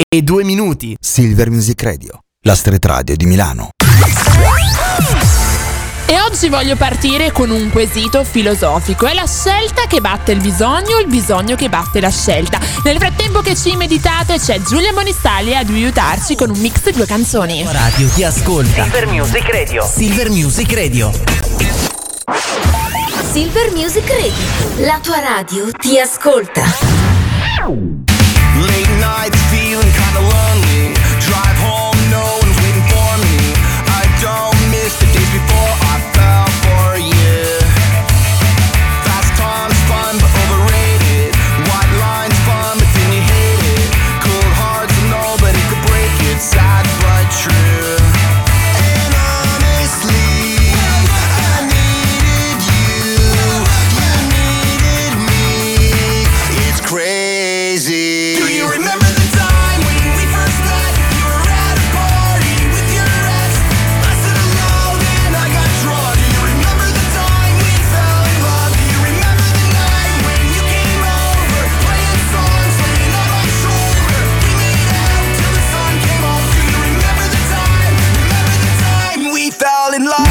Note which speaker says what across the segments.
Speaker 1: e 2 minuti.
Speaker 2: Silver Music Radio, la street radio di Milano.
Speaker 3: E oggi voglio partire con un quesito filosofico. È la scelta che batte il bisogno che batte la scelta. Nel frattempo che ci meditate c'è Giulia Bonistali ad aiutarci con un mix di 2 canzoni.
Speaker 1: Radio ti ascolta.
Speaker 4: Silver Music Radio.
Speaker 1: Silver Music Radio.
Speaker 5: Silver Music Radio, la tua radio ti ascolta.
Speaker 6: Late nights feeling kinda lonely. Drive home, no one's waiting for me. I don't miss the days before I fell for you. Fast times fun but overrated. White lines fun but then you hate it. Cold hearts and nobody could break it. Sad but true. And honestly, I needed you. You needed me. It's crazy. Do you remember the time when we first met? You were at a party with your ex. I said hello, then I got drunk. Do you remember the time we fell in love? Do you remember the night when you came over, playing songs, laying on my shoulder? We made out till the sun came up. Do you remember the time? Remember the time we fell in love?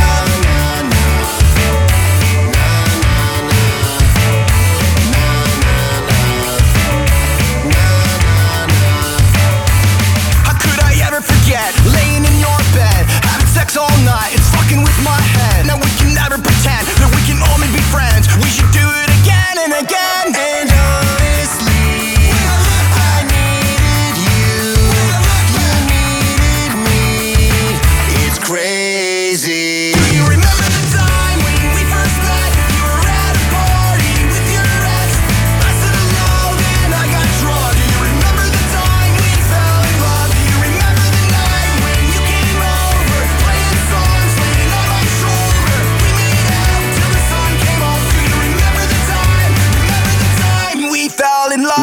Speaker 6: How could I ever forget laying in your bed, having sex all night? It's fucking with my head. Now we can never pretend that we can only be friends. We should do it again and again. And honestly, I needed you. You needed me. It's crazy. Do you remember the time when we first met? You were at a party with your ex. I said hello, then I got drunk. Do you remember the time we fell in love? Do you remember the night when you came over, playing songs, laying on my shoulder? We made out till the sun came up. Do you remember the time? Remember the time we fell in love?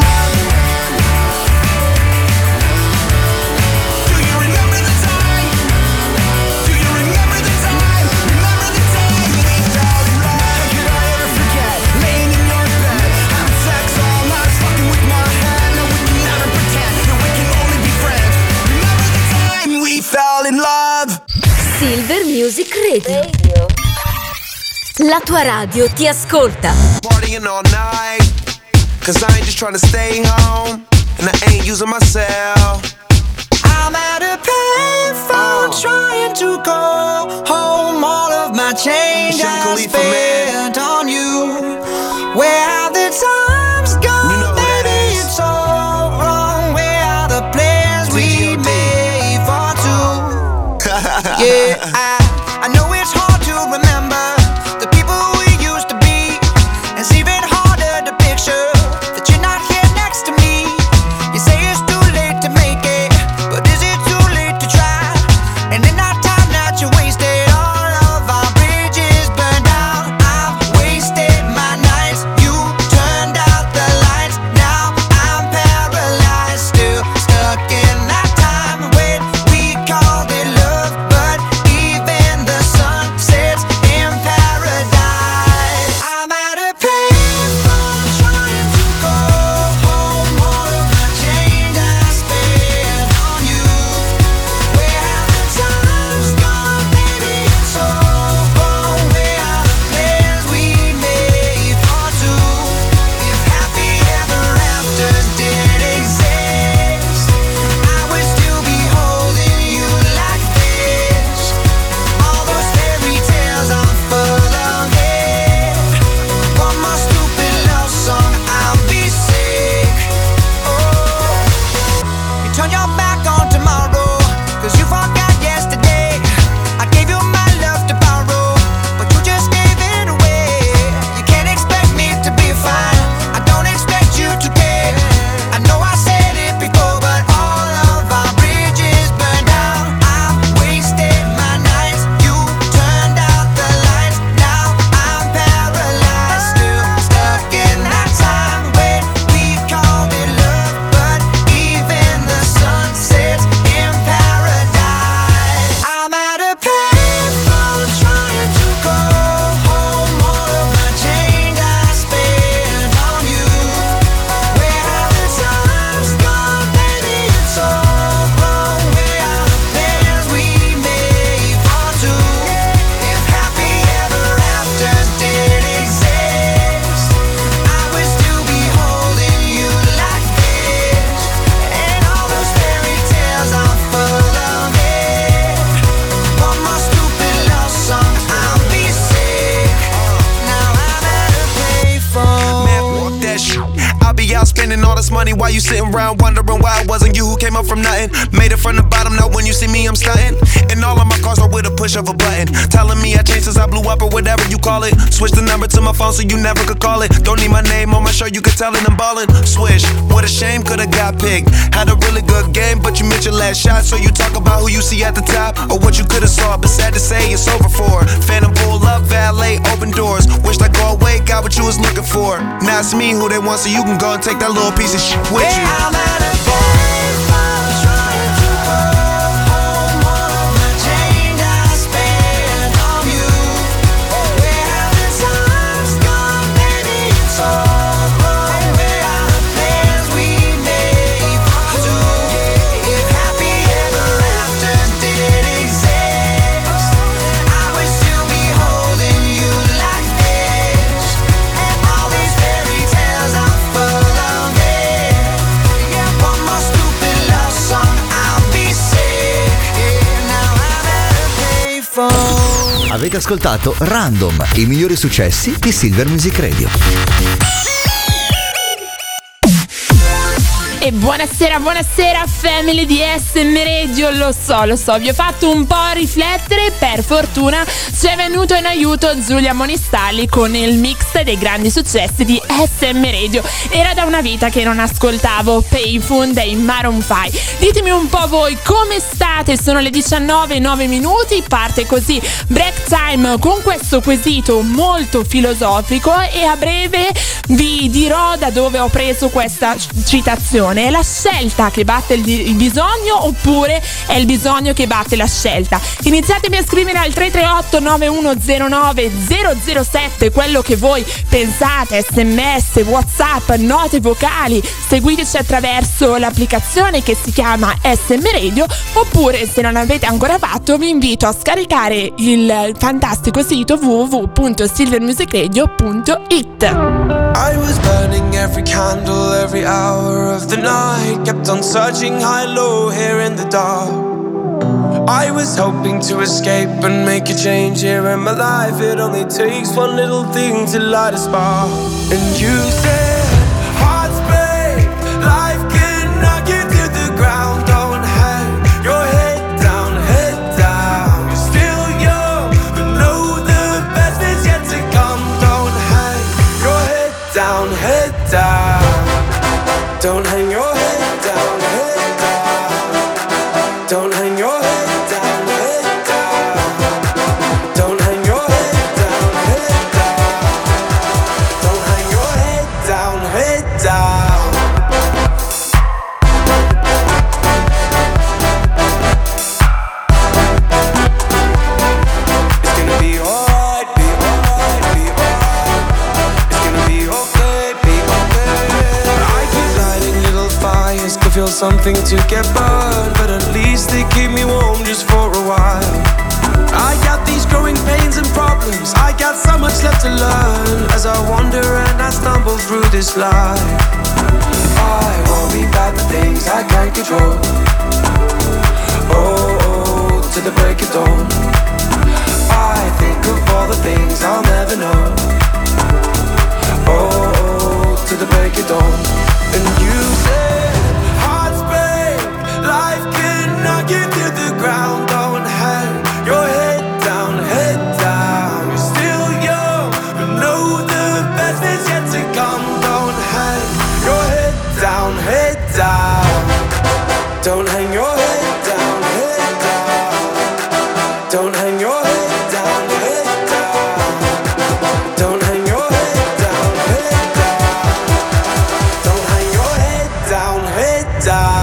Speaker 6: Do you remember the time? Do you remember the time? Remember the time we fell in love? How could I ever forget laying in your bed, having sex all night, fucking with my head? No, we can never pretend that we can only be friends. Remember the time we fell in love?
Speaker 5: Silver Music Radio. La tua radio ti ascolta.
Speaker 6: Partying all night, cause I ain't just trying to stay home, and I ain't using myself. I'm at a payphone trying to go home. All of my change I spent on you. Where have the times gone? Baby, it's all wrong. Where are the plans we made for two? Yeah, I know it's hard to remember the people we used to be. It's even harder to picture that you're not here next to me. You say it's too late to make it, but is it too late to try? And in that time that you wasted, all of our bridges burned out. I've wasted my nights, you turned out the lights. Now I'm paralyzed, still stuck in that time when we called it love. But even money while you sitting around wondering why it wasn't you who came up from nothing. Made it from the bottom, now when you see me I'm stunting. And all of my cars are with a push of a button, telling me I changed since I blew up or whatever you call it. Switch the number to my phone so you never could call it. Don't need my name on my shirt, you could tell it I'm ballin'. Swish, what a shame, could've got picked. Had a really good game, but you missed your last shot. So you talk about who you see at the top or what you could've saw, but sad to say it's over for. Phantom pull up, valet, open doors. Wished I go away, got what you was looking for. Now it's me who they want, so you can go and take that little piece of shit with you.
Speaker 4: I'm at a payphone trying to call home all of the change I spent on you. Where have the times gone, baby? It's all wrong. Where are the plans we made for two? If happy ever after did exist, I would still be holding you like this. And all these fairy tales are full of it. Yeah, one more stupid love song, I'll be sick. Yeah, now I'm at a payphone.
Speaker 2: Avete ascoltato Random, i migliori successi di Silver Music Radio.
Speaker 3: E buonasera, buonasera family di SM Radio, lo so, vi ho fatto un po' riflettere, per fortuna ci è venuto in aiuto Giulia Monistalli con il mix dei grandi successi di SM Radio. Era da una vita che non ascoltavo Payphone dei Maroon 5. Ditemi un po' voi come state, sono le 19:09, parte così Break Time con questo quesito molto filosofico e a breve vi dirò da dove ho preso questa citazione. È la scelta che batte il bisogno oppure è il bisogno che batte la scelta? Iniziatemi a scrivere al 338 9109 007 quello che voi pensate, sms, whatsapp, note vocali. Seguiteci attraverso l'applicazione che si chiama SM Radio, oppure se non l'avete ancora fatto vi invito a scaricare il fantastico sito www.silvermusicradio.it.
Speaker 4: I was burning every candle, every hour of the night. Kept on searching high, low, here in the dark. I was hoping to escape and make a change here in my life. It only takes one little thing to light a spark. And you said, hearts break, life can knock you to the ground. Don't hang your head down, head down. You're still young, but know the best is yet to come. Don't hang your head down, head down. Don't hang your head down, head down. Don't hang your head down, head down. Don't hang your head down, head down. Don't hang your head down, head down. It's gonna be alright, be alright, be alright. It's gonna be okay, be okay. I keep lighting little fires, could feel something to get burned, but at least they keep me warm just for a while. I got these growing pains and problems, I got so much left to learn as I wander and I stumble through this life. I worry about the things I can't control. Oh, to the break of dawn. I think of all the things I'll never know. Oh, to the break of dawn. And you said, hearts break, life can knock you to the ground. Don't hang your head down, head down. You're still young, but know the best is yet to come. Don't hang your head down, head down. Don't hang your head down, head down. Don't hang your head down, head down. Don't hang your head down, head down. Don't hang your head down, head down.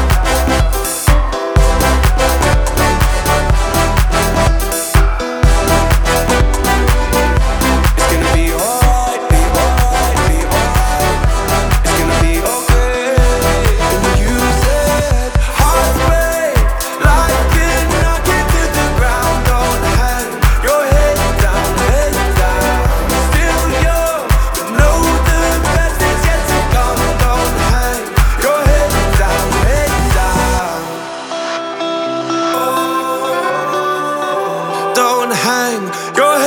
Speaker 4: It's gonna be alright, be alright, be alright. It's gonna be okay. And you said, hearts break, life can knock you to the ground. Don't hang your head down, head down. Still young, but know the best is yet to come. Don't hang your head down, head down. Oh, don't hang your head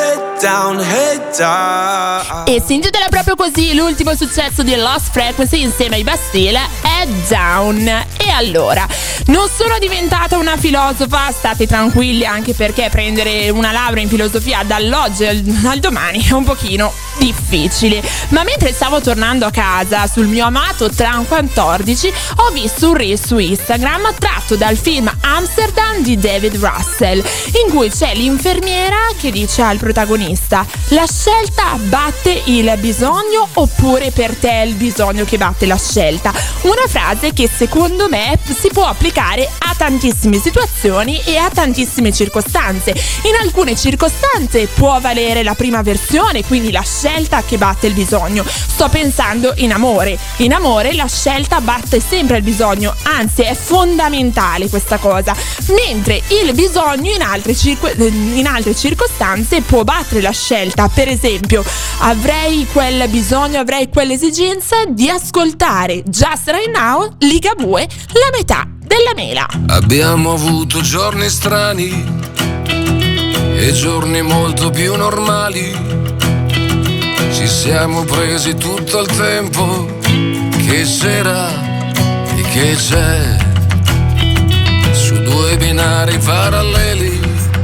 Speaker 4: head down.
Speaker 3: E si intitola proprio così l'ultimo successo di Lost Frequency insieme ai Bastille, Head Down. E allora, non sono diventata una filosofa, state tranquilli, anche perché prendere una laurea in filosofia dall'oggi al domani è un pochino difficile. Ma mentre stavo tornando a casa sul mio amato tram 14 ho visto un reel su Instagram tratto dal film Amsterdam di David Russell, in cui c'è l'infermiera che dice al protagonista: la scelta batte il bisogno oppure per te è il bisogno che batte la scelta? Una frase che secondo me si può applicare a tantissime situazioni e a tantissime circostanze. In alcune circostanze può valere la prima versione, quindi la scelta che batte il bisogno. Sto pensando in amore. In amore la scelta batte sempre il bisogno, anzi è fondamentale questa cosa, mentre il bisogno in altre circostanze può battere la scelta. Per esempio, avrei quel bisogno, avrei quell'esigenza di ascoltare Just Right Now, Ligabue, la metà della mela.
Speaker 7: Abbiamo avuto giorni strani e giorni molto più normali. Ci siamo presi tutto il tempo che c'era e che c'è, su due binari paralleli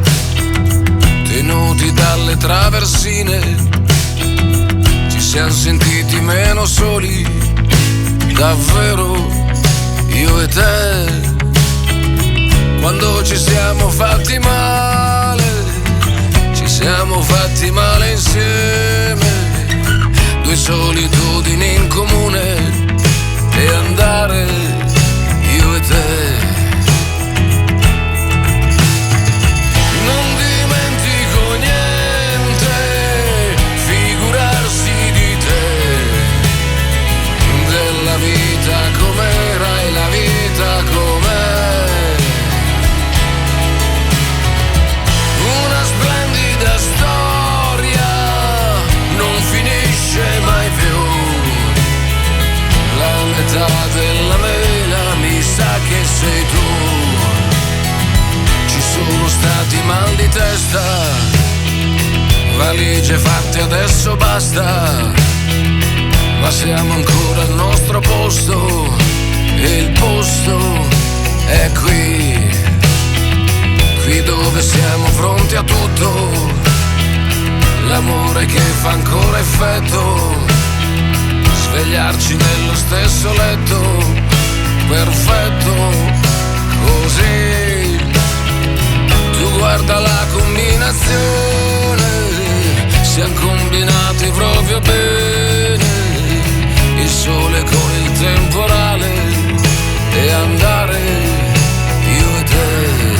Speaker 7: tenuti dalle traversine. Ci siamo sentiti meno soli, davvero, io e te. Quando ci siamo fatti male, ci siamo fatti male insieme. Due solitudini in comune e andare io e te. Non dimentico niente, figurarsi di te, della vita com'era e la vita com'è. Una splendida storia non finisce mai più. La metà della mela mi sa che sei tu. Ci sono stati mal di testa, valigie fatte adesso basta, ma siamo ancora al nostro posto e il posto è qui, qui dove siamo pronti a tutto. L'amore che fa ancora effetto, svegliarci nello stesso letto, perfetto, così. Tu guarda la combinazione, siamo combinati proprio bene, il sole con il temporale e andare io e te.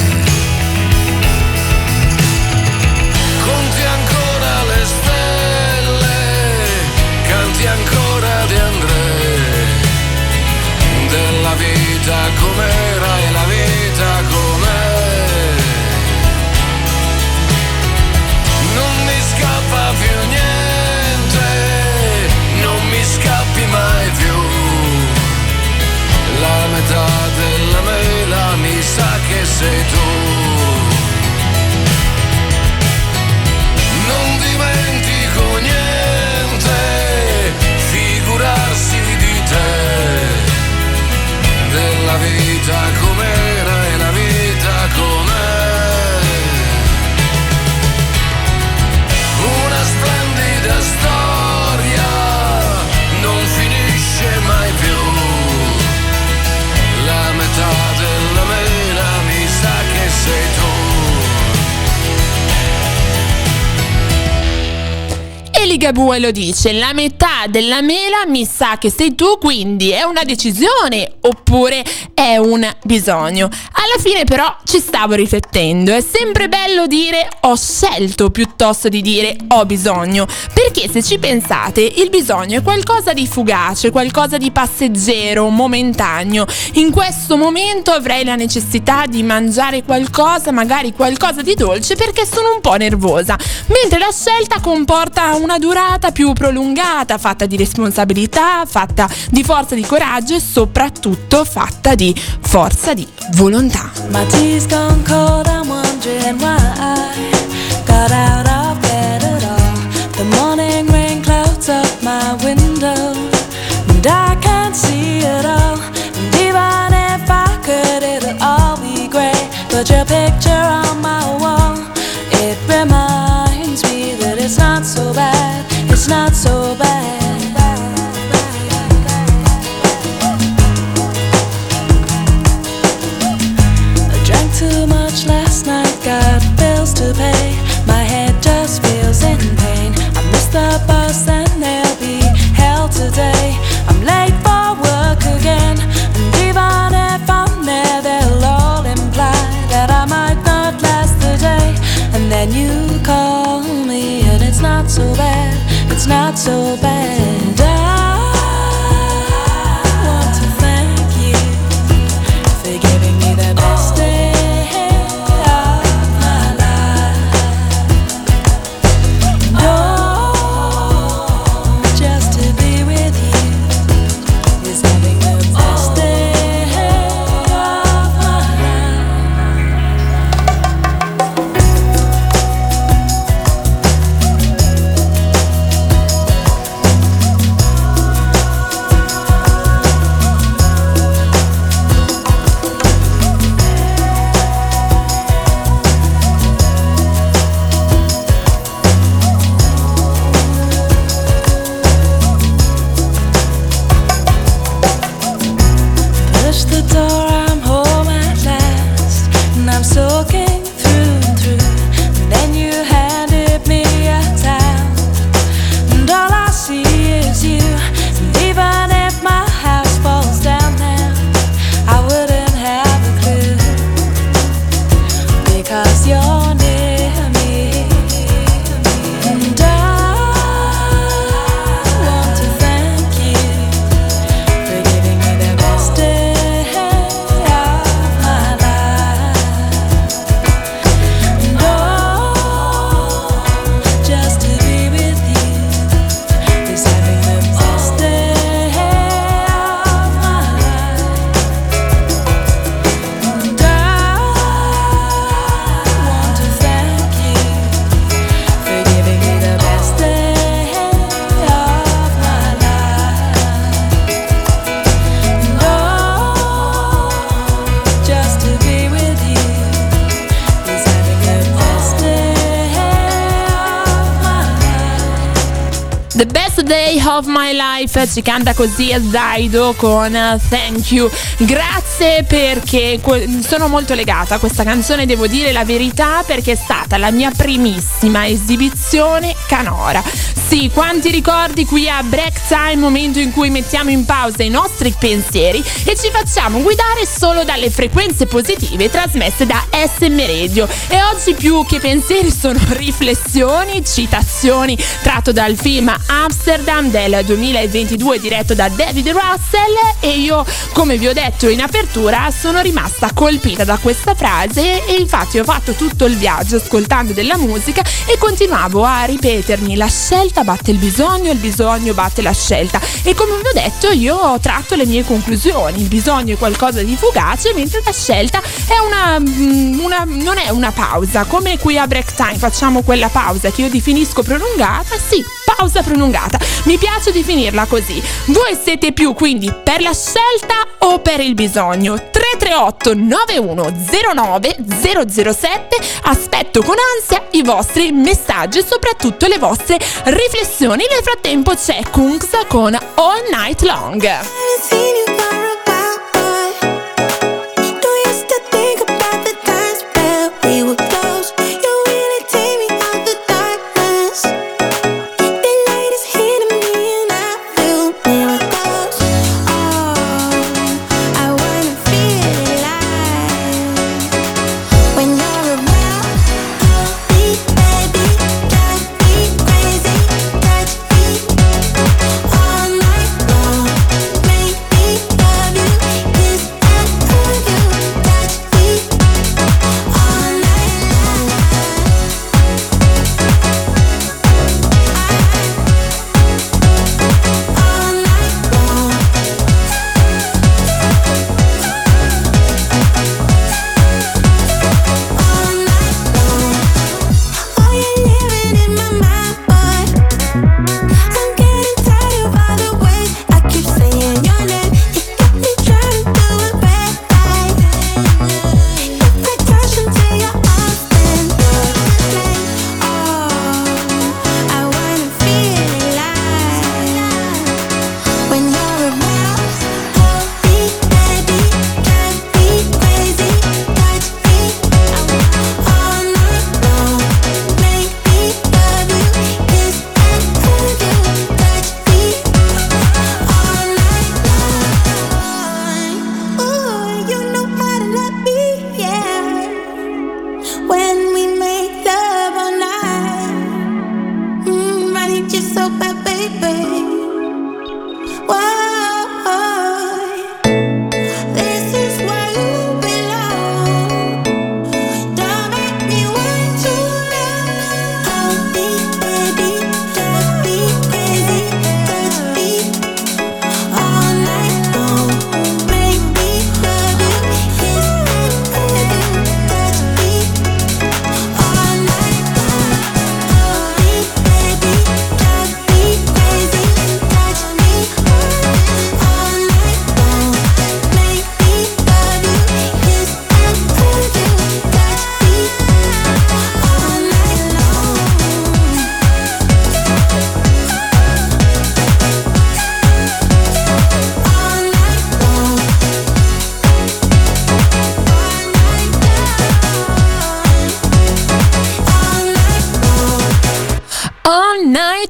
Speaker 7: Conti ancora le stelle, canti ancora di André, della vita com'era e la vita com'è. Non mi scappa più niente, non mi scappi mai più. La metà della mela mi sa che sei tu. Non dimentico niente, figurarsi di te, della vita com'era e la vita com'è. Una splendida storia non finisce mai più. La metà della mela mi sa che sei tu.
Speaker 3: E Ligabue lo dice, la metà della mela mi sa che sei tu, quindi è una decisione oppure è un bisogno. Alla fine però ci stavo riflettendo, è sempre bello dire ho scelto piuttosto di dire ho bisogno, perché se ci pensate il bisogno è qualcosa di fugace, qualcosa di passeggero, momentaneo. In questo momento avrei la necessità di mangiare qualcosa, magari qualcosa di dolce perché sono un po' nervosa, mentre la scelta comporta una durata più prolungata, fatta di responsabilità, fatta di forza di coraggio e soprattutto fatta di forza di volontà.
Speaker 8: My tea's gone cold, I'm wondering why I got out of bed at all. Put your picture on my wall. It reminds me that it's not so bad. It's not so bad. I drank too much last night, got bills to pay. My head just feels in pain. I missed the bus and there'll be hell today. I'm late for work again, and even if I'm there, they'll all imply that I might not last the day. And then you call me and it's not so bad. It's not so bad. I want to thank you for giving me the best day of my life. Oh, just to be with you is having the best day of my push the door, I'm home at last, and I'm soaking through and through. And then you handed me a towel, and all I see is you. And even if my house falls down now, I wouldn't have a clue, because you're near me. And I want to thank you for giving me the best day of my life. And oh, just to be with you is having the best day of my life. And I want to thank you for giving me the best day of my life. And oh, just to be with you is having the best day of my life.
Speaker 3: The Best Day of My Life, ci canta così Zaido con Thank You. Grazie, perché sono molto legata a questa canzone, devo dire la verità, perché è stata la mia primissima esibizione canora. Sì, quanti ricordi qui a Break Time, momento in cui mettiamo in pausa i nostri pensieri e ci facciamo guidare solo dalle frequenze positive trasmesse da SM Radio. E oggi più che pensieri sono riflessioni, citazioni tratto dal film Amsterdam del 2022 diretto da David Russell, e io, come vi ho detto in apertura, sono rimasta colpita da questa frase e infatti ho fatto tutto il viaggio ascoltando della musica e continuavo a ripetermi: la scelta batte il bisogno batte la scelta. E come vi ho detto, io ho tratto le mie conclusioni: il bisogno è qualcosa di fugace, mentre la scelta è non è una pausa, come qui a Break Time facciamo quella pausa che io definisco prolungata. Sì, pausa prolungata, mi piace definirla così. Voi siete più quindi per la scelta o per il bisogno? 338 9109 007. Aspetto con ansia i vostri messaggi e soprattutto le vostre riflessioni. Nel frattempo c'è Kungs con All Night Long.
Speaker 9: All night long, make me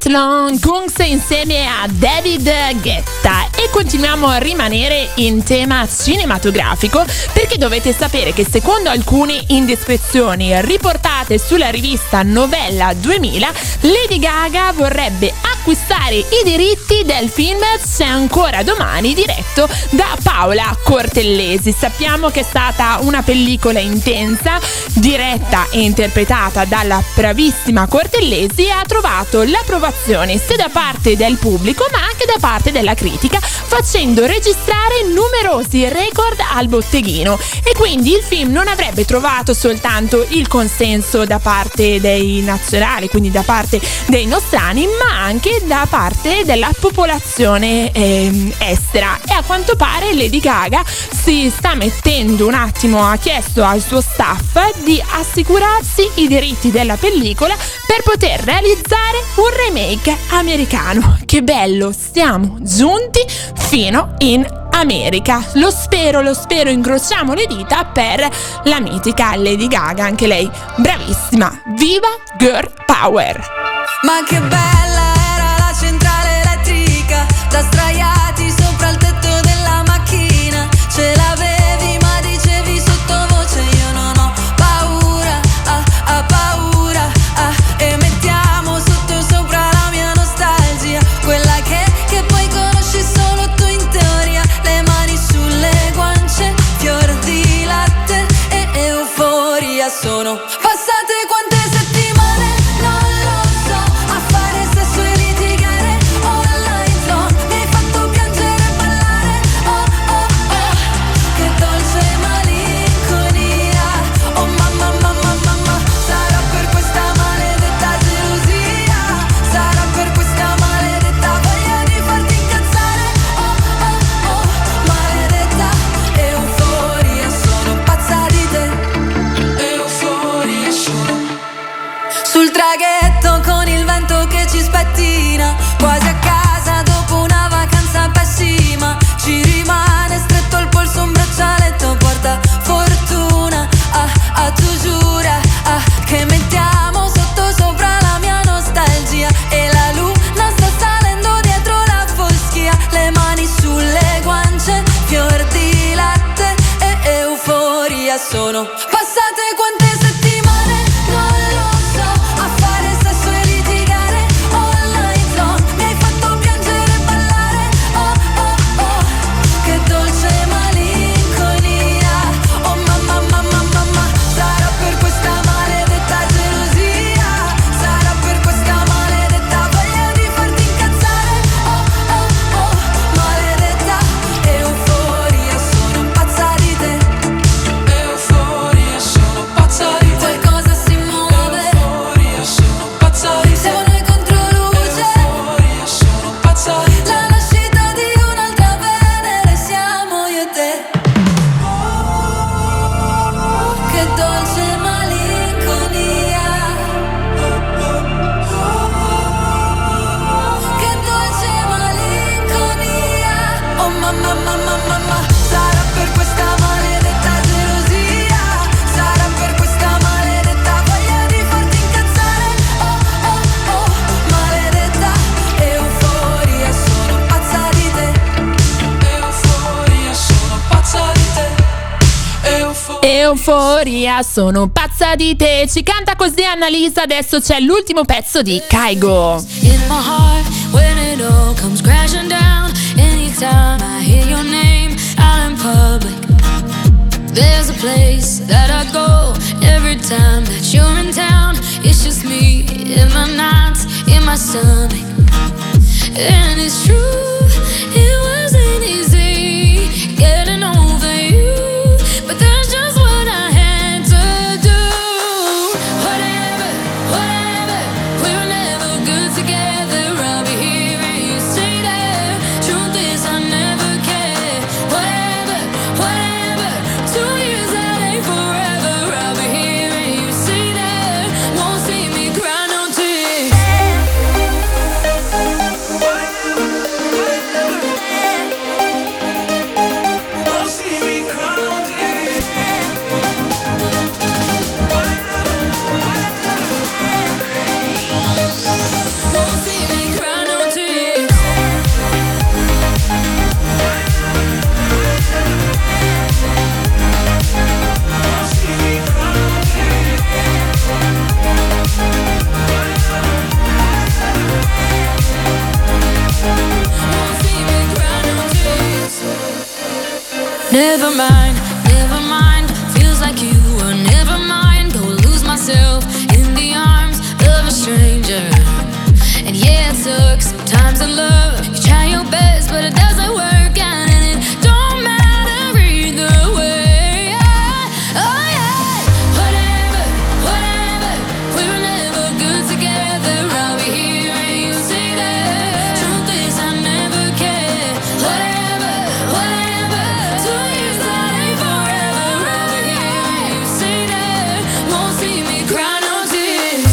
Speaker 3: Long Kungs insieme a David Guetta. E continuiamo a rimanere in tema cinematografico, perché dovete sapere che secondo alcune indiscrezioni riportate sulla rivista Novella 2000, Lady Gaga vorrebbe acquistare i diritti del film C'è ancora domani, diretto da Paola Cortellesi. Sappiamo che è stata una pellicola intensa, diretta e interpretata dalla bravissima Cortellesi, e ha trovato l'approvazione sia da parte del pubblico ma anche da parte della critica, facendo registrare numerosi record al botteghino. E quindi il film non avrebbe trovato soltanto il consenso da parte dei nazionali, quindi da parte dei nostrani, ma anche da parte della popolazione estera. E a quanto pare Lady Gaga si sta mettendo un attimo, ha chiesto al suo staff di assicurarsi i diritti della pellicola per poter realizzare un remake americano. Che bello, siamo giunti fino in America. Lo spero, incrociamo le dita per la mitica Lady Gaga, anche lei bravissima. Viva Girl Power!
Speaker 8: Ma che bella era la centrale elettrica, da sdraiati sopra il tetto della macchina. Ce l'avevi ma dicevi sottovoce io non ho paura, paura, e mettiamo sotto sopra la mia nostalgia, quella che poi conosci solo tu in teoria. Le mani sulle guance, fior di latte e euforia. Sono passate quante settimane, non lo so, a fare sesso e litigare all night long. Mi hai fatto piangere e ballare, oh oh oh, che dolce malinconia. Oh mamma, mamma, mamma, sarà per questa maledetta gelosia, sarà per questa maledetta voglia di farti incazzare, oh oh oh, maledetta euforia. Sono pazza di te, euforia sono. Sul traghetto con il vento che ci spettina, quasi a casa dopo una vacanza pessima. Ci rimane stretto al polso un braccialetto porta fortuna, tu giura, che mettiamo sotto sopra la mia nostalgia. E la luna sta salendo dietro la foschia. Le mani sulle guance, fior di latte e euforia. Sono passate quante settimane, non lo so, a fare sesso e litigare all night long. Mi hai fatto piangere e ballare, oh oh oh, che dolce malinconia. Oh mamma, mamma, mamma, sarà per questa maledetta gelosia, sarà per questa maledetta voglia di farti incazzare, oh oh oh, maledetta euforia. Sono pazza di te, euforia, sono pazza di te. Qualcosa si muove, euforia, sono pazza di te. Siamo noi contro luce, euforia, sono pazza di te. La nascita di un'altra Venere siamo io e te. Che dolce malinconia, che dolce malinconia. Oh mamma, mamma, mamma, sarà per questa maledetta gelosia, sarà per questa maledetta voglia di farti incazzare, oh oh oh, maledetta euforia. Sono pazza di te, euforia, sono pazza di te,
Speaker 3: Euforia, sono pazza di te. Ci canta così Annalisa. Adesso c'è l'ultimo pezzo di Kygo.
Speaker 8: in my heart when it all comes crashing down. Anytime I hear your name out in public, there's a place that I go every time that you're in town. It's just me in my nights, in my stomach. And it's true, it wasn't easy getting over you, but that's just what I had to do. Whatever, whatever, we were never good together. I'll be here and you stay there. Truth is I never cared. Whatever, whatever, 2 years that ain't forever. I'll be here and you stay there. Won't see me cry no tears. Never mind, feels like you were never mind. Go lose myself in the arms of a stranger. And yeah, it took some times in love. You try your best, but it doesn't work out, and it don't matter either way. Oh yeah, whatever, we were never good together. I'll be here and you say that. Truth is I never cared. Whatever, 2 years that ain't forever. I'll be here and you say that. Won't see me cry no tears.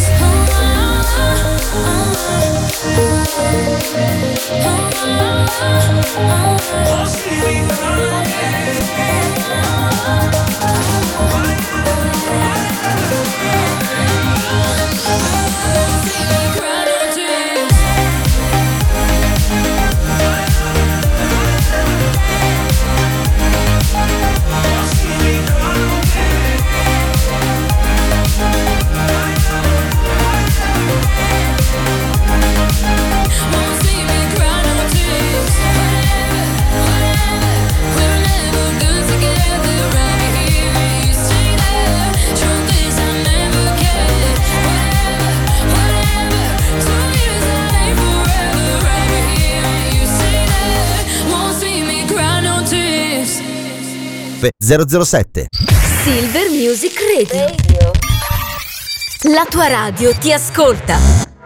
Speaker 2: F 007.
Speaker 5: Silver Music Radio. La tua radio ti ascolta.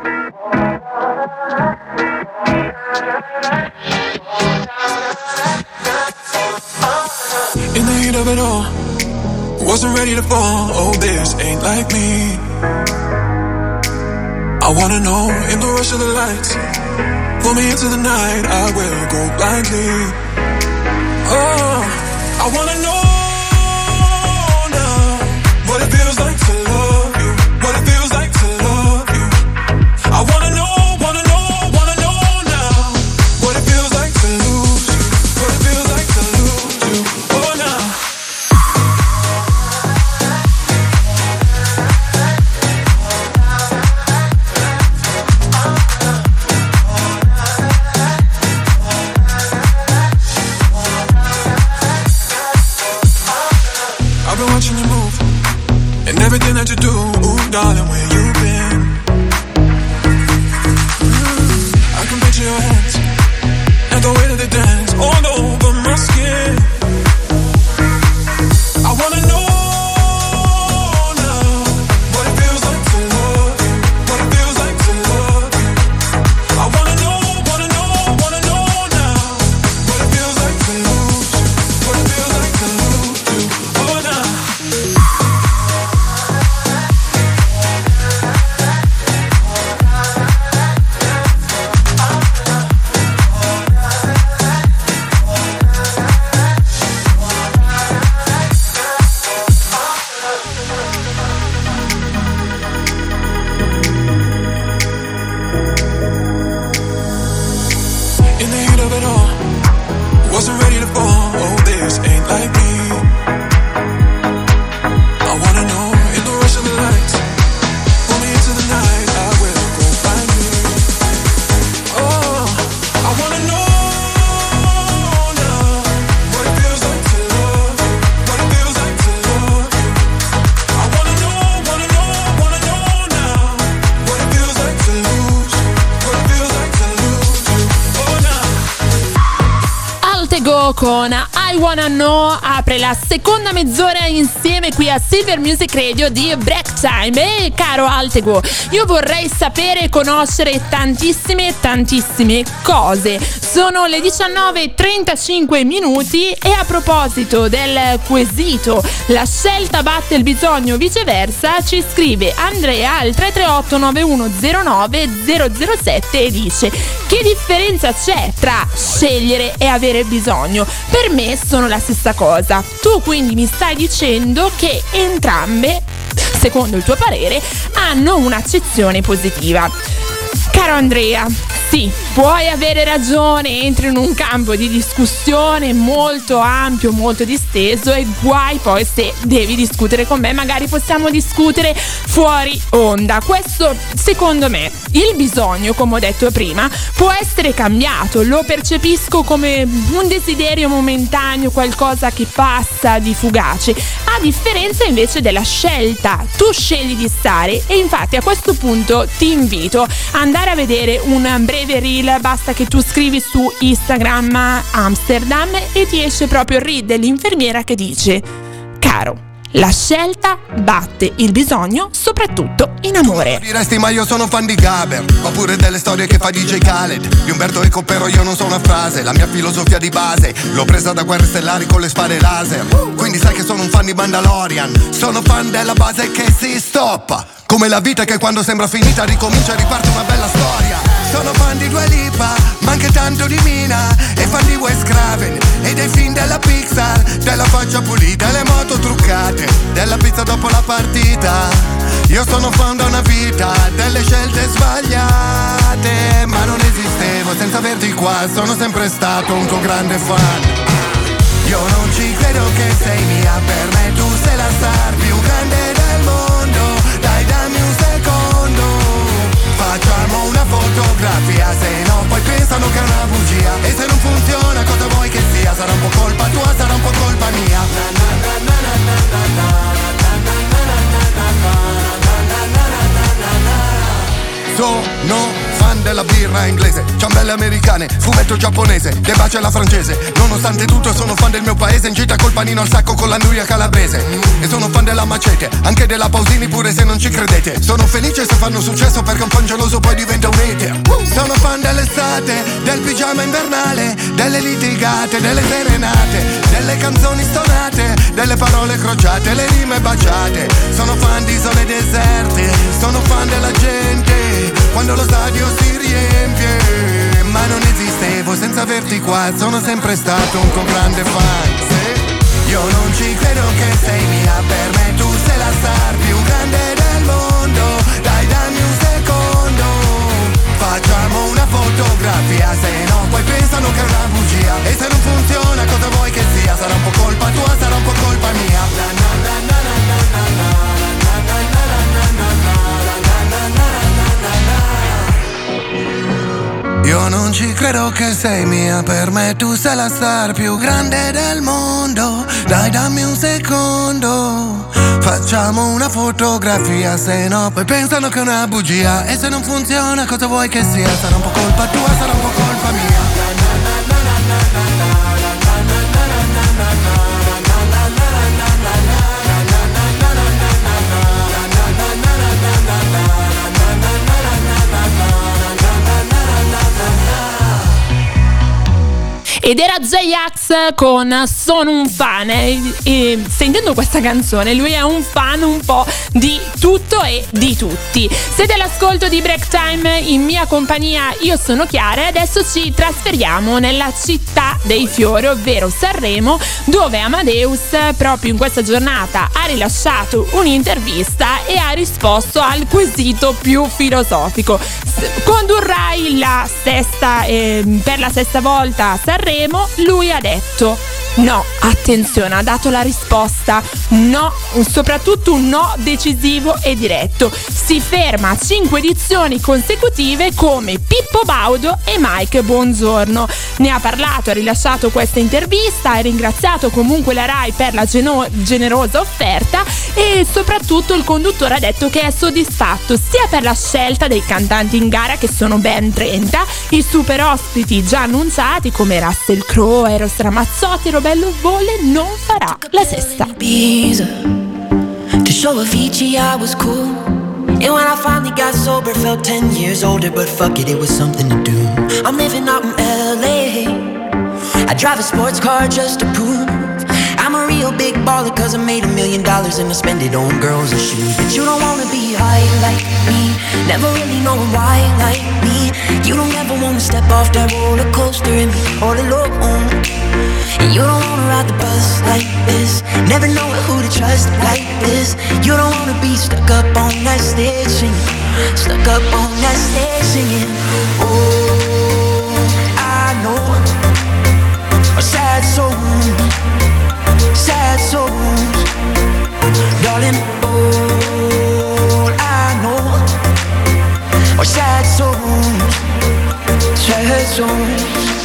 Speaker 4: In the heat of it all, wasn't ready to fall. Oh, this ain't like me. I wanna know in the rush of the lights. Pull me into the night, I will go blindly. Oh, I wanna know now what it feels like to love you. What it feels like to love you. I wanna know now what it feels like to lose you. What it feels like to lose you. Oh, now. I've been watching you move and everything that you do. Ooh, darling, where you been? I can picture your hands and the way that they dance all over my skin. I wanna know now what it feels like to love you. What it feels like to love you. I wanna know now what it feels like to lose you. What it feels like to lose you. Oh, now. In the heat of it all, wasn't ready to fall. Oh, this ain't like me. I wanna know in the rush of the lights. Pull me into the night, I will go find you. Oh, I wanna know now what it feels like to love you. What it feels like to love you. I wanna know now what it feels like to lose you. What it feels like to lose you. Oh, now.
Speaker 3: Altego con I Wanna Know apre la seconda mezz'ora insieme qui a Silver Music Radio di Break Time. E caro Altego, io vorrei sapere e conoscere tantissime cose. Sono le 19:35 minuti e a proposito del quesito la scelta batte il bisogno viceversa, ci scrive Andrea al 338 9109 007 e dice: che differenza c'è tra scegliere e avere bisogno? Per me sono la stessa cosa. Tu quindi mi stai dicendo che entrambe, secondo il tuo parere, hanno un'accezione positiva. Caro Andrea, sì, puoi avere ragione, entri in un campo di discussione molto ampio, molto disteso, e guai poi se devi discutere con me, magari possiamo discutere fuori onda. Questo, secondo me, il bisogno, come ho detto prima, può essere cambiato, lo percepisco come un desiderio momentaneo, qualcosa che passa di fugace, a differenza invece della scelta. Tu scegli di stare, e infatti a questo punto ti invito ad andare a vedere un breve reel. Basta che tu scrivi su Instagram Amsterdam e ti esce proprio il reel dell'infermiera che dice: caro, la scelta batte il bisogno, soprattutto in amore.
Speaker 6: Diresti ma io sono fan di Gaber, oppure delle storie che fa DJ Khaled, di Umberto Eco, però io non so una frase. La mia filosofia di base l'ho presa da Guerre Stellari con le spade laser. Quindi sai che sono un fan di Mandalorian, sono fan della base che si stoppa, come la vita che quando sembra finita ricomincia e riparte una bella storia. Sono fan di Dua Lipa, ma anche tanto di Mina, e fan di Wes Craven e dei film della Pixar, della faccia pulita e le moto truccate, della pizza dopo la partita. Io sono fan da una vita, delle scelte sbagliate, ma non esistevo senza averti qua, sono sempre stato un tuo grande fan. Io non ci credo che sei mia, per me tu sei la star più grande del mondo, dai dammi un secondo, facciamo una fotografia, se no poi pensano che è una bugia, e se non funziona cosa vuoi che sia, sarà un po' colpa tua, sarà un po' colpa mia. Sono fan della birra inglese, ciambelle americane, fumetto giapponese, De Baci alla francese. Nonostante tutto sono fan del mio paese, in gita col panino al sacco con l'anduia calabrese. E sono fan della Macete, anche della Pausini pure se non ci credete. Sono felice se fanno successo perché un fan geloso poi diventa un hater. Sono fan dell'estate, del pigiama invernale, delle litigate, delle serenate, delle canzoni stonate, delle parole crociate, le rime baciate. Sono fan di isole deserte, sono fan della gente quando lo stadio si riempie, ma non esistevo senza averti qua, sono sempre stato un tuo grande fan. Sì. Io non ci credo che sei mia, per me tu sei la star più grande del mondo, dai dammi un secondo, facciamo una fotografia, se no poi pensano che è una bugia, e se non funziona cosa vuoi che sia, sarà un po' colpa tua, sarà un po' colpa mia. Io non ci credo che sei mia, per me tu sei la star più grande del mondo, dai dammi un secondo, facciamo una fotografia, se no poi pensano che è una bugia, e se non funziona cosa vuoi che sia, sarà un po' colpa tua, sarà un po' colpa mia.
Speaker 3: Ed era J-Ax con Sono un fan, e sentendo questa canzone lui è un fan un po' di tutto e di tutti. Siete all'ascolto di Break Time, in mia compagnia io sono Chiara, e adesso ci trasferiamo nella città dei fiori, ovvero Sanremo, dove Amadeus proprio in questa giornata ha rilasciato un'intervista e ha risposto al quesito più filosofico: condurrai la sesta per la sesta volta a Sanremo? Lui ha detto no, attenzione, ha dato la risposta no, soprattutto un no decisivo e diretto. Si ferma a 5 edizioni consecutive come Pippo Baudo e Mike Bongiorno. Ne ha parlato, ha rilasciato questa intervista, ha ringraziato comunque la Rai per la generosa offerta, e soprattutto il conduttore ha detto che è soddisfatto sia per la scelta dei cantanti in gara, che sono ben 30, i super ospiti già annunciati come Russell Crowe, Eros Ramazzotti, Bello Vole non farà la sesta.
Speaker 9: To show Avicii I was cool, and when I finally got sober felt 10 years older, but fuck it, it was something to do. I'm living out in LA, I drive a sports car just to prove I'm a real big baller, cause I made $1 million and I spend it on girls and shoes. But you don't wanna be high like me, never really knowing why like me. You don't ever wanna step off that roller coaster and be all alone. And you don't wanna ride the bus like this, never knowing who to trust like this. You don't wanna be stuck up on that stage singing, stuck up on that stage singing. Oh, sad souls, sad souls. Darling, all I know are sad souls, sad souls.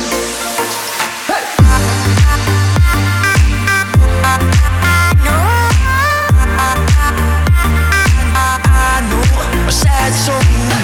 Speaker 9: Sad souls.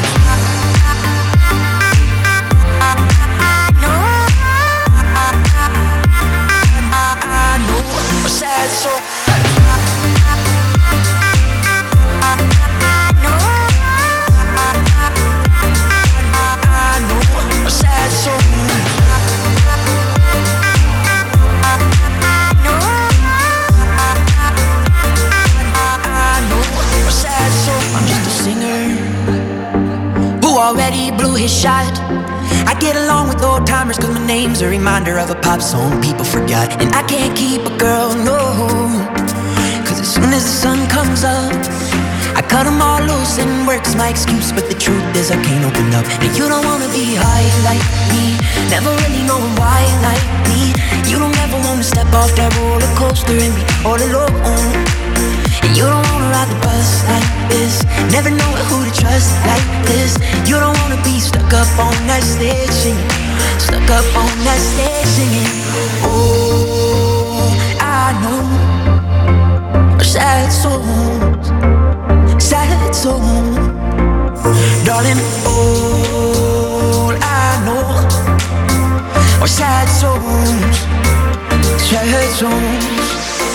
Speaker 9: Already blew his shot. I get along with old timers cause my name's a reminder of a pop song people forgot. And I can't keep a girl, no, cause as soon as the sun comes up I cut them all loose and work's my excuse. But the truth is I can't open up. And you don't wanna be high like me, never really knowing why like me. You don't ever wanna step off that roller coaster and be all alone. And you don't wanna ride the bus like this, never know who to trust like this. You don't wanna be stuck up on that stage singing, stuck up on that stage singing. Oh, I know sad souls, sad souls. Darling, all I know are sad souls, sad souls.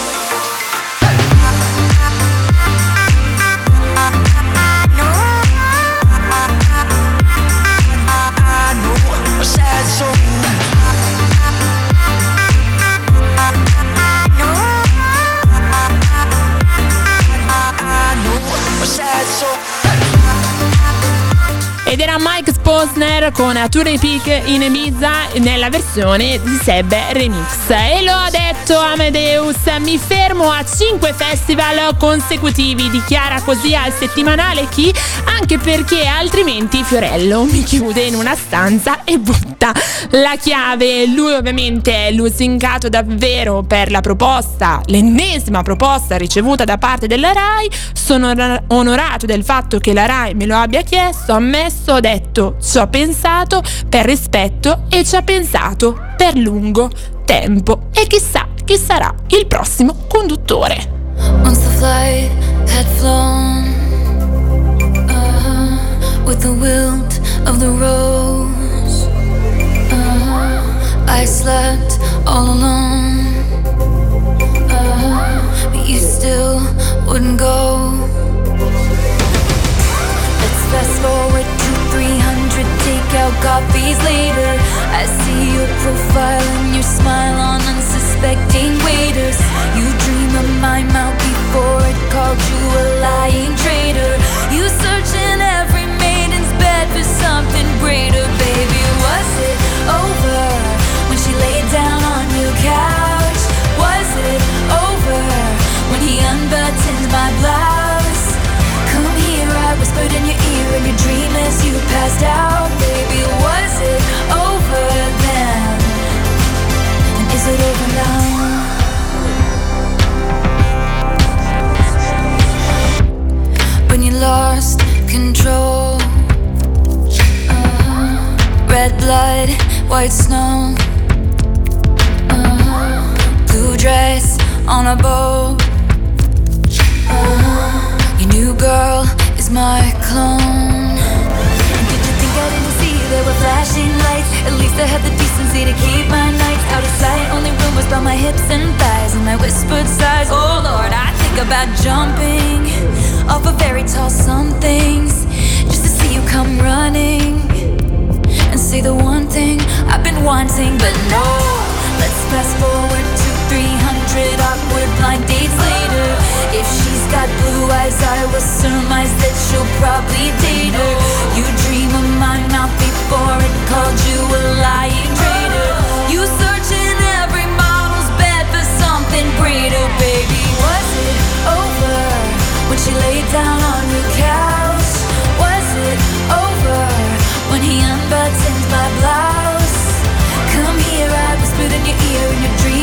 Speaker 3: Ed era Mike Posner con Tour Peak in Ibiza nella versione di Seb Remix. E lo ha detto Amadeus: mi fermo a 5 festival consecutivi, dichiara così al settimanale Chi, anche perché altrimenti Fiorello mi chiude in una stanza e butta la chiave. Lui ovviamente è lusingato davvero per la proposta, l'ennesima proposta ricevuta da parte della Rai. Sono onorato del fatto che la Rai me lo abbia chiesto, ammesso, ho detto, ci ho pensato per rispetto e ci ha pensato per lungo tempo. E chissà chi sarà il prossimo conduttore.
Speaker 8: Once the flight had flown, with the wilt of the rose, I slept all alone, but you still wouldn't go. Let's fast forward to 300 takeout coffees later. I see your profile and your smile on unsuspecting waiters. You dream of my mouth before it called you a lying traitor. You search in every maiden's bed for something greater. Baby, was it over when she laid down on your couch? Was it over when he unbuttoned my blouse? Come here, I whispered in your ear in your dream as you passed out. Baby, was it over then? And is it over now? When you lost control, red blood, white snow, blue dress on a boat. Your new girl is my clone. And did you think I didn't see there were flashing lights? At least I had the decency to keep my nights out of sight. Only rumors about my hips and thighs and my whispered sighs. Oh Lord, I think about jumping off of very tall somethings just to see you come running and say the one thing I've been wanting. But no, let's fast forward to 300 awkward blind dates later. If she's got blue eyes, I will surmise that she'll probably date her. You dream of my mouth before it called you a lying traitor. You search in every model's bed for something greater. Baby, was it over when she laid down on your couch? Was it over when he unbuttoned my blouse? Come here, I whispered in your ear in your dream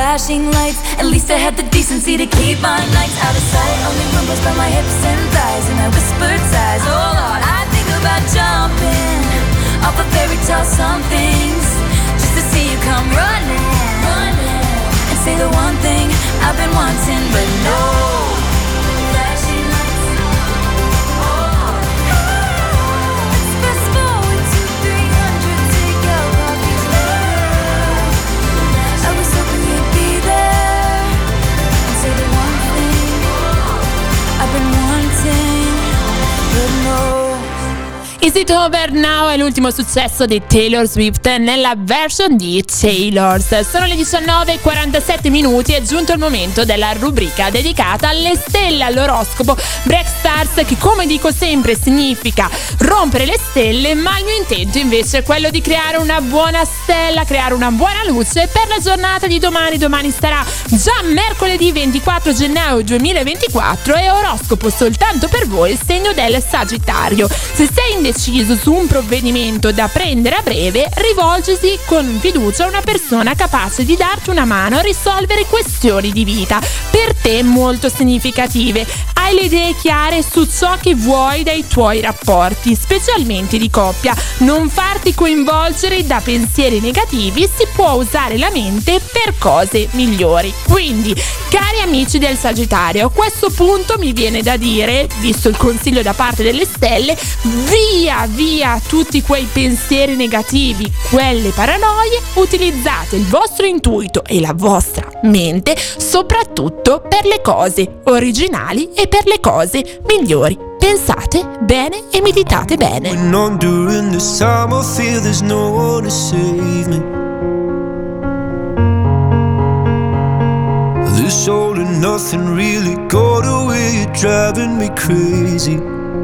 Speaker 8: flashing lights. At least I had the decency to keep my nights out of sight. Only rumbles by my hips and thighs, and I whispered sighs. Oh Lord, I think about jumping off a fairy tale somethings, just to see you come running, and say the one thing I've been wanting, but no. Flashing lights. Oh, let's fast forward to 300, take out coffee's love. I was hoping you'd be there and say the one thing I've been wanting, but no.
Speaker 3: Is It Over Now è l'ultimo successo di Taylor Swift nella version di Taylor's. Sono le 19:47, è giunto il momento della rubrica dedicata alle stelle, all'oroscopo Break Stars, che come dico sempre significa rompere le stelle, ma il mio intento invece è quello di creare una buona stella, creare una buona luce per la giornata di domani. Domani sarà già mercoledì 24 gennaio 2024 e oroscopo soltanto per voi il segno del Sagittario. Se sei indeciso su un provvedimento da prendere a breve, rivolgisi con fiducia a una persona capace di darti una mano a risolvere questioni di vita per te molto significative. Hai le idee chiare su ciò che vuoi dai tuoi rapporti, specialmente di coppia. Non farti coinvolgere da pensieri negativi, si può usare la mente per cose migliori. Quindi, cari amici del Sagittario, a questo punto mi viene da dire, visto il consiglio da parte delle stelle, via tutti quei pensieri negativi, quelle paranoie, utilizzate il vostro intuito e la vostra mente soprattutto per le cose originali e per le cose migliori. Pensate bene e meditate bene.
Speaker 4: When I'm during this time I feel there's no one to save me. This all and nothing really got away, you're driving me crazy.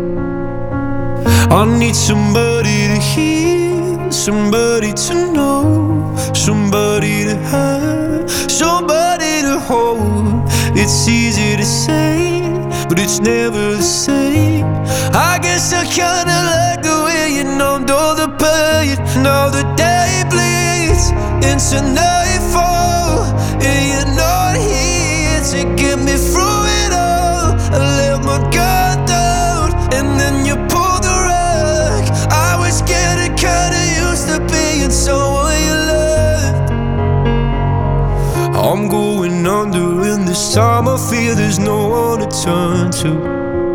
Speaker 4: I need somebody to hear, somebody to know, somebody to have, somebody to hold. It's easy to say, but it's never the same. I guess I kinda like the way you numbed all the pain. Now the day bleeds into nightfall, and you're not here to get me through it all. I let my guard down, and then you pulled the rug. I was getting kinda used to being someone you loved. I'm going under, and this time I feel there's no one to turn to.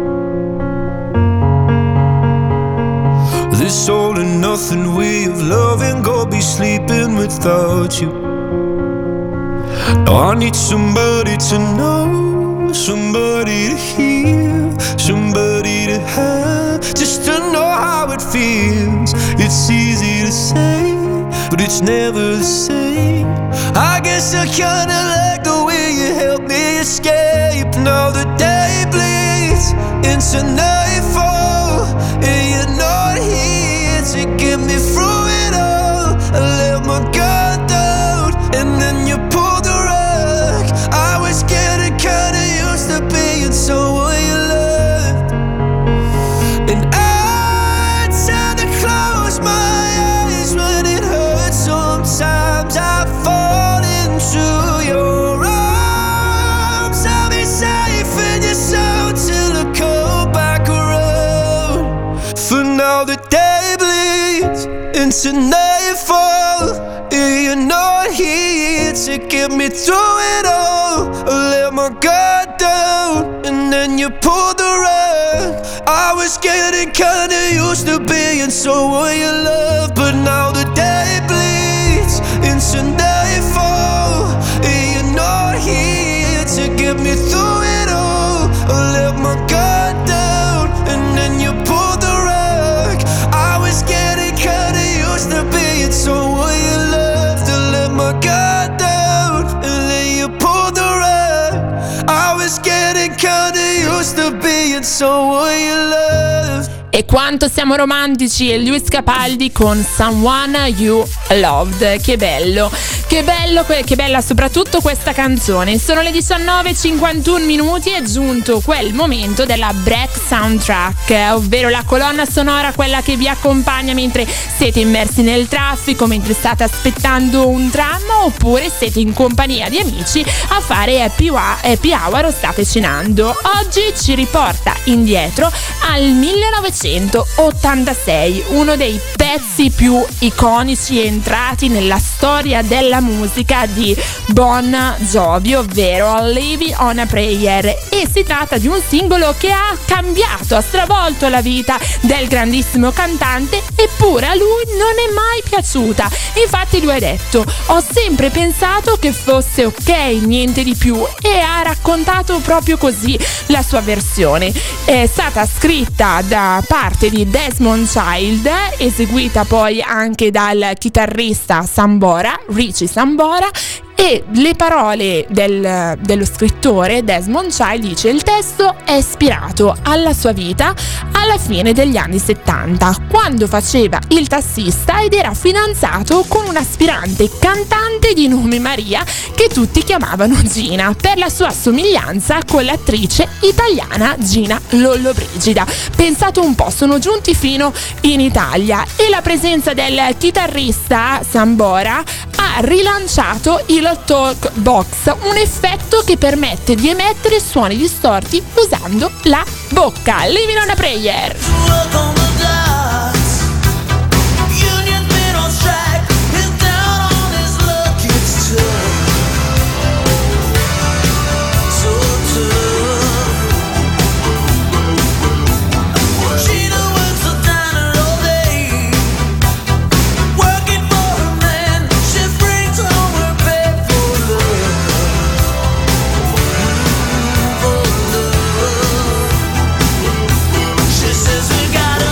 Speaker 4: This all and nothing way of loving, go be sleeping without you. Now I need somebody to know, somebody to hear, somebody to have, just to know how it feels. It's easy to say, but it's never the same. I guess I kinda like the way you help me escape. Now the day bleeds into nightfall, and you're not here to get me through it all. I let my guard down, and then you pulled the rug. I was getting kinda used to being someone you loved, and I tend to close my eyes when it hurts. Sometimes I fall into your arms. I'll be safe in your soul till I come back around. For now the day bleeds into nightfall, and you're not here to get me through it all. I let my guard down, and then you pulled the rug. I was getting kinda used to being someone you love, but now the day bleeds into nightfall, and you're not here to get me through it all. I let my guard down, and then you pulled the rug. I was getting kinda used to being someone you loved. I let my guard down, and then you pulled the rug. I was getting kinda used to being someone you loved.
Speaker 3: E quanto siamo romantici, e Lewis Capaldi con Someone You Loved, che bello. che bella soprattutto questa canzone. Sono le 19:51 minuti, è giunto quel momento della Break Soundtrack, ovvero la colonna sonora, quella che vi accompagna mentre siete immersi nel traffico, mentre state aspettando un tram oppure siete in compagnia di amici a fare happy hour o state cenando. Oggi ci riporta indietro al 1986, uno dei pezzi più iconici entrati nella storia della musica di Bon Jovi, ovvero Living on a Prayer, e si tratta di un singolo che ha cambiato, ha stravolto la vita del grandissimo cantante, eppure a lui non è mai piaciuta. Infatti lui ha detto: ho sempre pensato che fosse ok, niente di più, e ha raccontato proprio così la sua versione. È stata scritta da parte di Desmond Child, eseguita poi anche dal chitarrista Richie Sambora, e le parole dello scrittore Desmond Child dice: il testo è ispirato alla sua vita alla fine degli anni 70, quando faceva il tassista ed era fidanzato con un'aspirante cantante di nome Maria che tutti chiamavano Gina per la sua somiglianza con l'attrice italiana Gina Lollobrigida. Pensate un po', sono giunti fino in Italia e la presenza del chitarrista Sambora ha rilanciato il talk box, un effetto che permette di emettere suoni distorti usando la bocca. Living on a Prayer.
Speaker 6: She says we gotta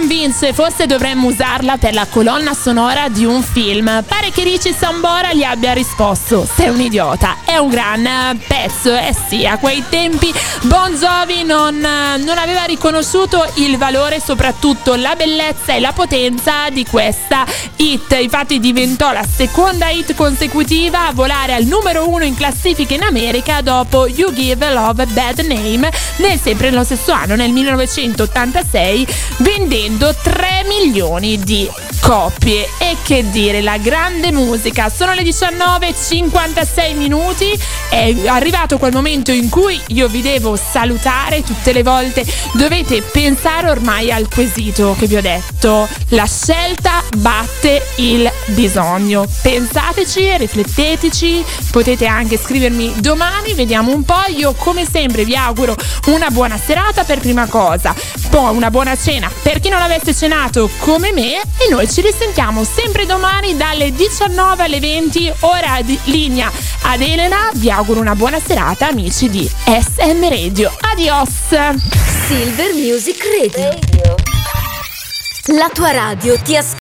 Speaker 3: convince, forse dovremmo usarla per la colonna sonora di un film. Pare che Richie Sambora gli abbia risposto: sei un idiota. È un gran pezzo, sì, a quei tempi Bon Jovi non aveva riconosciuto il valore, soprattutto la bellezza e la potenza di questa hit. Infatti diventò la seconda hit consecutiva a volare al numero 1 in classifica in America dopo You Give Love a Bad Name, sempre nello stesso anno, nel 1986, vendendo 3 milioni di copie. E che dire, la grande musica. Sono le 19:56 minuti, è arrivato quel momento in cui io vi devo salutare. Tutte le volte dovete pensare ormai al quesito che vi ho detto: la scelta batte il bisogno. Pensateci, rifletteteci, potete anche scrivermi domani, vediamo un po'. Io come sempre vi auguro una buona serata per prima cosa, poi una buona cena per chi non avesse cenato come me, e noi ci risentiamo sempre domani dalle 19 alle 20, ora di linea ad Elena. Vi auguro una buona serata, amici di SM Radio. Adios.
Speaker 5: Silver Music Radio. La tua radio ti ascolta.